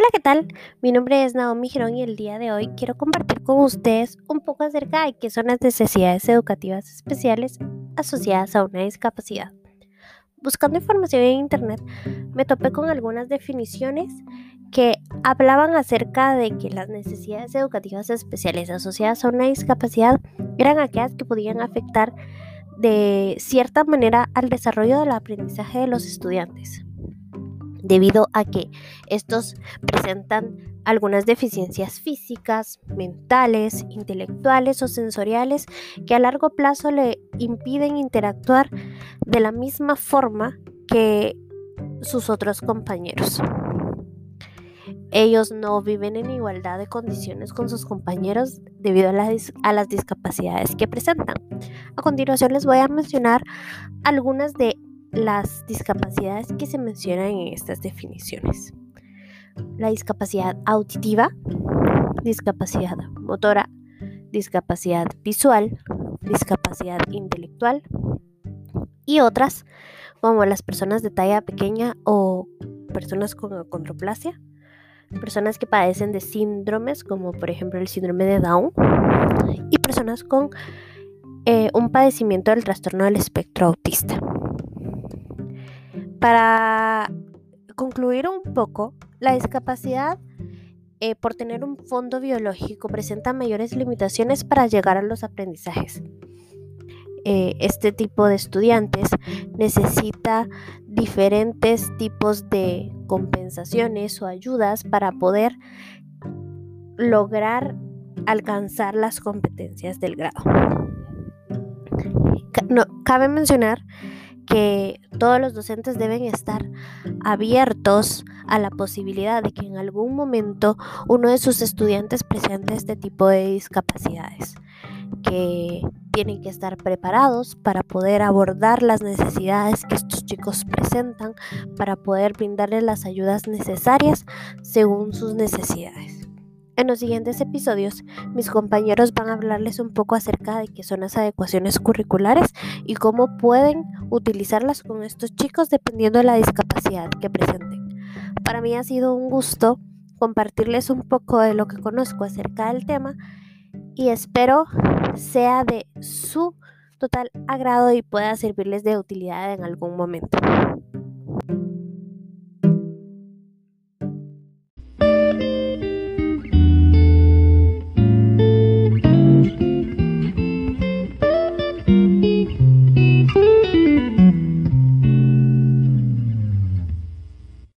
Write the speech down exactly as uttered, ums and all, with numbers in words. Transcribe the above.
Hola, ¿qué tal? Mi nombre es Naomi Girón y el día de hoy quiero compartir con ustedes un poco acerca de qué son las necesidades educativas especiales asociadas a una discapacidad. Buscando información en Internet, me topé con algunas definiciones que hablaban acerca de que las necesidades educativas especiales asociadas a una discapacidad eran aquellas que podían afectar de cierta manera al desarrollo del aprendizaje de los estudiantes, debido a que estos presentan algunas deficiencias físicas, mentales, intelectuales o sensoriales que a largo plazo le impiden interactuar de la misma forma que sus otros compañeros. Ellos no viven en igualdad de condiciones con sus compañeros debido a, la dis- a las discapacidades que presentan. A continuación les voy a mencionar algunas de las discapacidades que se mencionan en estas definiciones. La discapacidad auditiva, discapacidad motora, discapacidad visual, discapacidad intelectual y otras como las personas de talla pequeña o personas con acondroplasia, personas que padecen de síndromes como por ejemplo el síndrome de Down y personas con eh, un padecimiento del trastorno del espectro autista. Para concluir un poco, la discapacidad eh, por tener un fondo biológico presenta mayores limitaciones para llegar a los aprendizajes. Eh, este tipo de estudiantes necesita diferentes tipos de compensaciones o ayudas para poder lograr alcanzar las competencias del grado. No, cabe mencionar que todos los docentes deben estar abiertos a la posibilidad de que en algún momento uno de sus estudiantes presente este tipo de discapacidades, que tienen que estar preparados para poder abordar las necesidades que estos chicos presentan, para poder brindarles las ayudas necesarias según sus necesidades. En los siguientes episodios, mis compañeros van a hablarles un poco acerca de qué son las adecuaciones curriculares y cómo pueden utilizarlas con estos chicos dependiendo de la discapacidad que presenten. Para mí ha sido un gusto compartirles un poco de lo que conozco acerca del tema y espero sea de su total agrado y pueda servirles de utilidad en algún momento.